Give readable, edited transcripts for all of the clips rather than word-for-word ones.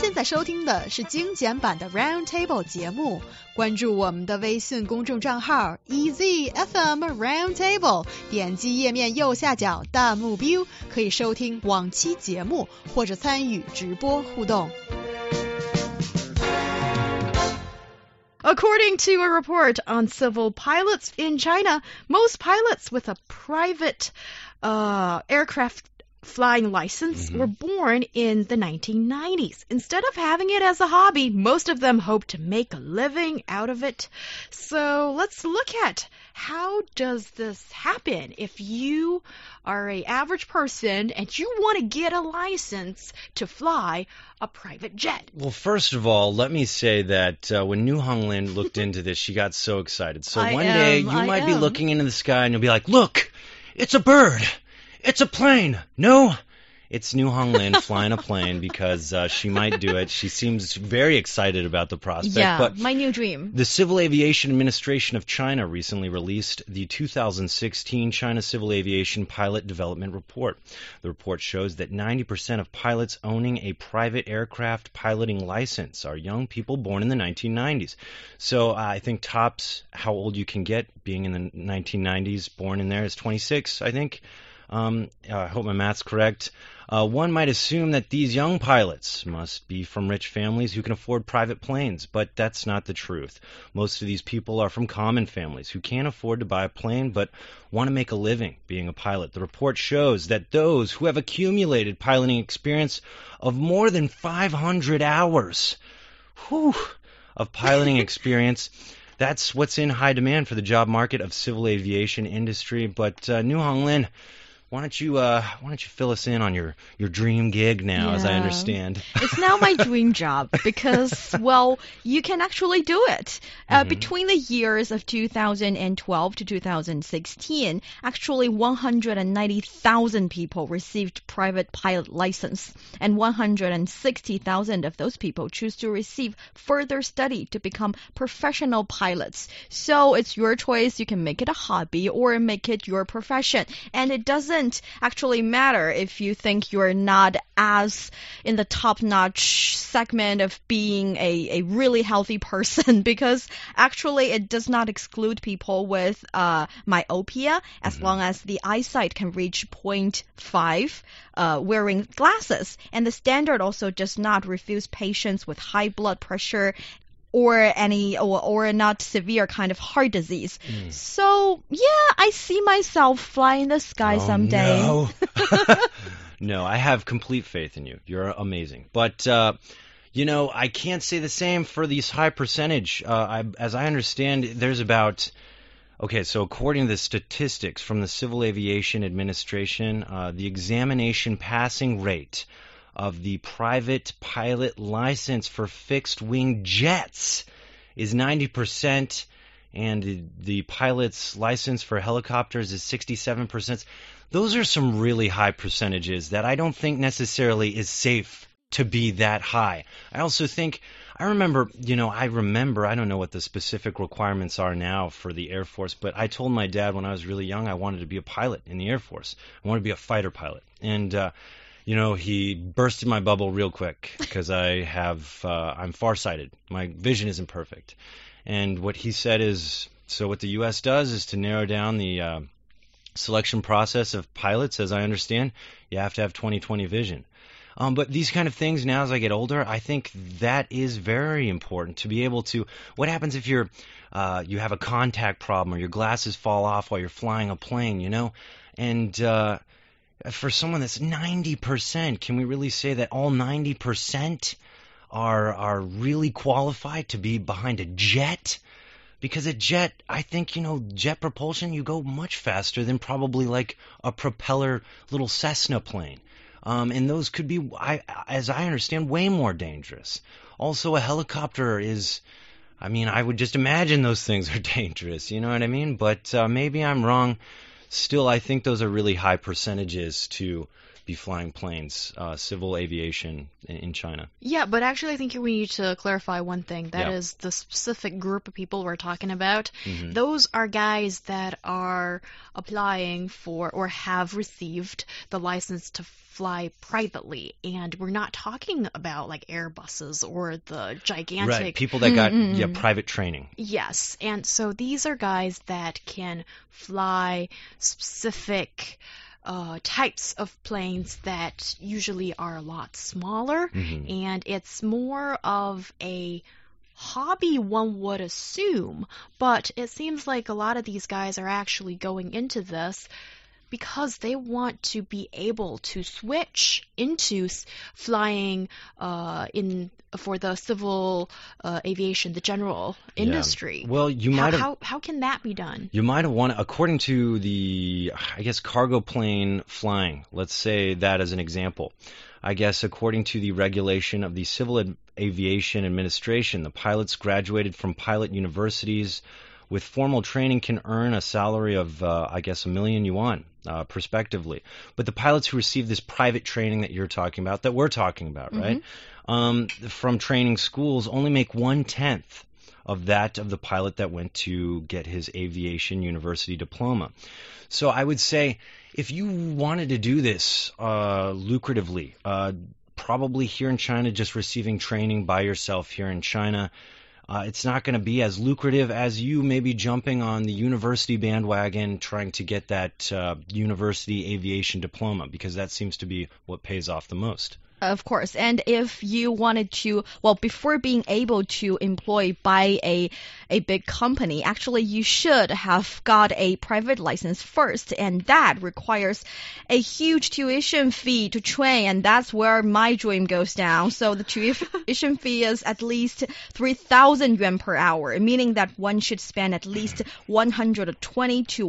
现在收听的是精简版的 Roundtable 节目，关注我们的微信公众账号 EZFM Roundtable， 点击页面右下角弹幕 view， 可以收听往期节目或者参与直播互动。According to a report on civil pilots in China, most pilots with a private aircraft flying license were born in the 1990s. Instead of having it as a hobby, most of them hope to make a living out of it. So let's look at how does this happen if you are an average person and you want to get a license to fly a private jet. Well, first of all, let me say that when New Honglin looked into this, she got so excited. So one day you might be looking into the sky and you'll be like, look, it's a bird. It's a plane. No, it's New Honglin flying a plane because she might do it. She seems very excited about the prospect. Yeah, but my new dream. The Civil Aviation Administration of China recently released the 2016 China Civil Aviation Pilot Development Report. The report shows that 90% of pilots owning a private aircraft piloting license are young people born in the 1990s. So I think tops how old you can get being in the 1990s, born in there is 26, I think. I hope my math's correct. One might assume that these young pilots must be from rich families who can afford private planes, but that's not the truth. Most of these people are from common families who can't afford to buy a plane but want to make a living being a pilot. The report shows that those who have accumulated piloting experience of more than 500 hours of piloting experience, that's what's in high demand for the job market of civil aviation industry. But New Honglin, why don't you fill us in on your dream gig now, as I understand? It's now my dream job because, well, you can actually do it. Between the years of 2012 to 2016, actually 190,000 people received private pilot license, and 160,000 of those people choose to receive further study to become professional pilots. So it's your choice. You can make it a hobby or make it your profession. And it doesn't actually matter if you think you're not as in the top-notch segment of being a really healthy person, because actually it does not exclude people with myopia as long as the eyesight can reach 0.5 wearing glasses. And the standard also does not refuse patients with high blood pressure or not severe kind of heart disease. So, yeah, I see myself fly in the sky someday. No. No, I have complete faith in you. You're amazing. But, I can't say the same for these high percentage. As I understand, there's about... Okay, so according to the statistics from the Civil Aviation Administration, the examination passing rate of the private pilot license for fixed-wing jets is 90%, and the pilot's license for helicopters is 67%. Those are some really high percentages that I don't think necessarily is safe to be that high. I also think, I remember, I don't know what the specific requirements are now for the Air Force, but I told my dad when I was really young I wanted to be a pilot in the Air Force. I wanted to be a fighter pilot. And, he bursted my bubble real quick because I'm farsighted. My vision isn't perfect. And what he said is, so what the U.S. does is to narrow down the selection process of pilots, as I understand, you have to have 20/20 vision. But these kind of things now as I get older, I think that is very important to be able to, what happens if you have a contact problem or your glasses fall off while you're flying a plane, and for someone that's 90%, can we really say that all 90% are really qualified to be behind a jet? Because a jet, I think, jet propulsion, you go much faster than probably like a propeller little Cessna plane. And those could be, as I understand, way more dangerous. Also, a helicopter is, I would just imagine those things are dangerous, you know what I mean? But maybe I'm wrong. Still, I think those are really high percentages to be flying planes, civil aviation in China. Yeah, but actually I think we need to clarify one thing. That Yeah. is the specific group of people we're talking about. Mhm. Those are guys that are applying for or have received the license to fly privately. And we're not talking about like Airbuses or the gigantic... Right, people that got private training. Yes, and so these are guys that can fly specific types of planes that usually are a lot smaller, and it's more of a hobby, one would assume, but it seems like a lot of these guys are actually going into this because they want to be able to switch into flying for the civil aviation, the general industry. Well, you might have. How can that be done? You might have wanted, according to the, I guess, cargo plane flying. Let's say that as an example. I guess according to the regulation of the Civil Aviation Administration, the pilots graduated from pilot universities with formal training can earn a salary of, I guess, 1 million yuan, prospectively. But the pilots who receive this private training that you're talking about, that we're talking about, right, from training schools only make 1/10 of that of the pilot that went to get his aviation university diploma. So I would say if you wanted to do this lucratively, probably here in China, just receiving training by yourself here in China, it's not going to be as lucrative as you maybe jumping on the university bandwagon trying to get that university aviation diploma, because that seems to be what pays off the most. Of course. And if you wanted to, well, before being able to employ by a big company, actually you should have got a private license first, and that requires a huge tuition fee to train, and that's where my dream goes down. So the tuition fee is at least 3,000 yuan per hour, meaning that one should spend at least 120 to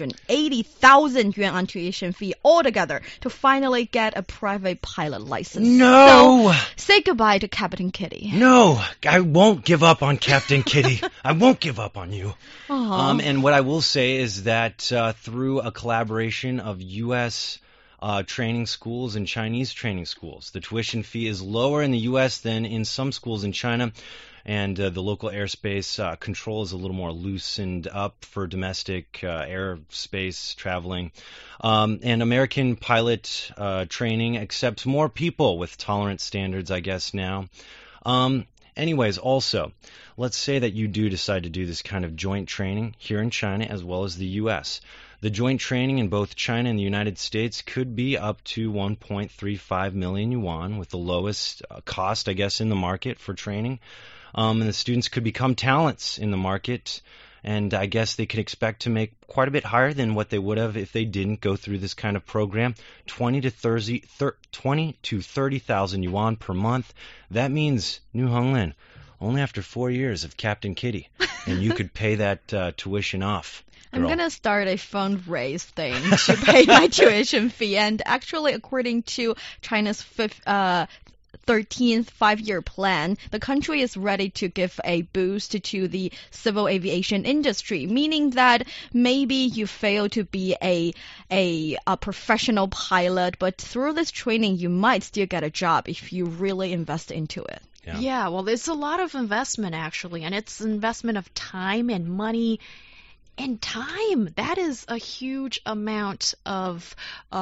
180,000 yuan on tuition fee altogether to finally get a private pilot license. No! So, say goodbye to Captain Kitty. No! I won't give up on Captain Kitty. I won't give up on you. And what I will say is that through a collaboration of U.S. Training schools and Chinese training schools, the tuition fee is lower in the U.S. than in some schools in China, and the local airspace control is a little more loosened up for domestic airspace traveling. And American pilot training accepts more people with tolerance standards, I guess, now. Anyways, also, let's say that you do decide to do this kind of joint training here in China as well as the U.S. The joint training in both China and the United States could be up to 1.35 million yuan, with the lowest cost, I guess, in the market for training. And the students could become talents in the market, and I guess they could expect to make quite a bit higher than what they would have if they didn't go through this kind of program. 20 to 30,000 yuan per month. That means, New Honglin, only after 4 years of Captain Kitty, and you could pay that tuition off. Girl. I'm going to start a fundraise thing to pay my tuition fee. And actually, according to China's 13th five-year plan, the country is ready to give a boost to the civil aviation industry, meaning that maybe you fail to be a professional pilot, but through this training, you might still get a job if you really invest into it. Yeah, well, it's a lot of investment, actually, and it's investment of time and money. And time, that is a huge amount of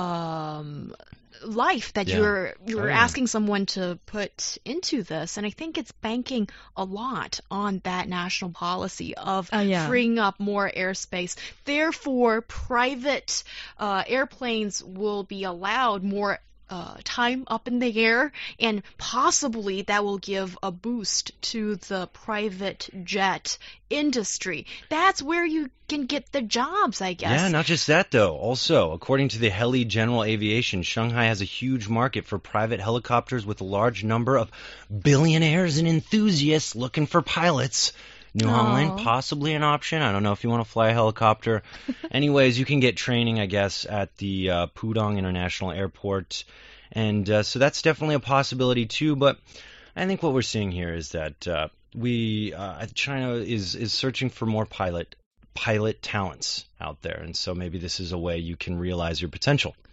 life that you're asking someone to put into this. And I think it's banking a lot on that national policy of freeing up more airspace. Therefore, private airplanes will be allowed more time up in the air, and possibly that will give a boost to the private jet industry. That's where you can get the jobs, I guess. Yeah, not just that, though. Also, according to the Heli General Aviation, Shanghai has a huge market for private helicopters with a large number of billionaires and enthusiasts looking for pilots. New Honglin, possibly an option. I don't know if you want to fly a helicopter. Anyways, you can get training, I guess, at the Pudong International Airport. And so that's definitely a possibility, too. But I think what we're seeing here is that China is searching for more pilot talents out there. And so maybe this is a way you can realize your potential.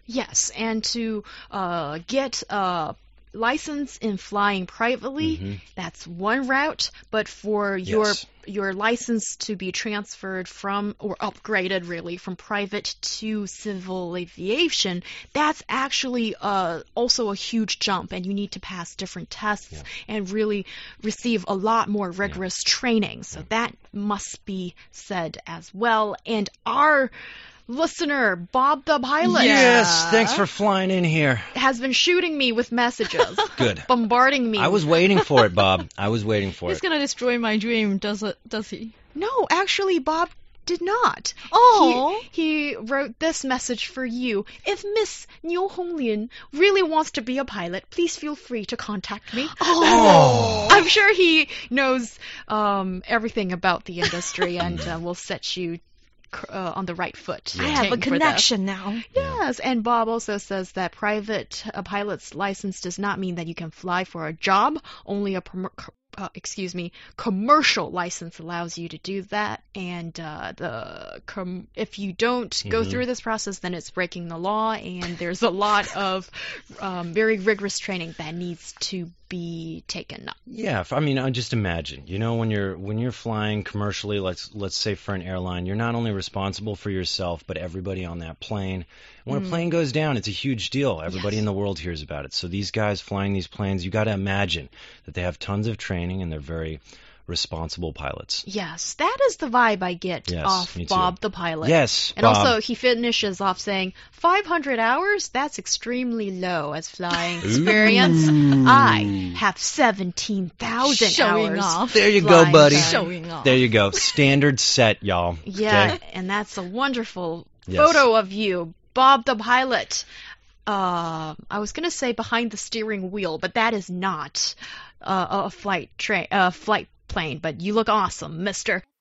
Yes, and to get a license in flying privately, that's one route. But for your license to be transferred from or upgraded really from private to civil aviation, that's actually also a huge jump, and you need to pass different tests and really receive a lot more rigorous training. So that must be said as well. And our listener, Bob the pilot. Yes, thanks for flying in here. Has been shooting me with messages. Good. Bombarding me. I was waiting for it, Bob. I was waiting for He's it. gonna destroy my dream, does he? No, actually, Bob did not. Oh. He wrote this message for you. If Miss Niu Honglin really wants to be a pilot, please feel free to contact me. Oh. I'm sure he knows everything about the industry and will set you on the right foot. I have a connection now. Yes, and Bob also says that private pilot's license does not mean that you can fly for a job. Only a commercial license allows you to do that, and if you don't go through this process, then it's breaking the law, and there's a lot of very rigorous training that needs to be taken up. Yeah, I mean, just imagine, when you're flying commercially, let's say for an airline, you're not only responsible for yourself, but everybody on that plane. When a plane goes down, it's a huge deal. Everybody in the world hears about it. So these guys flying these planes, you got to imagine that they have tons of training and they're very responsible pilots. Yes, that is the vibe I get off Bob the pilot. Yes, and Bob. Also, he finishes off saying, 500 hours? That's extremely low as flying experience. I have 17,000 Showing hours. off. There you go, buddy. Showing off. There you go. Standard set, y'all. Yeah, okay? And that's a wonderful photo of you, Bob the pilot. I was going to say behind the steering wheel, but that is not a flight plane, but you look awesome, mister.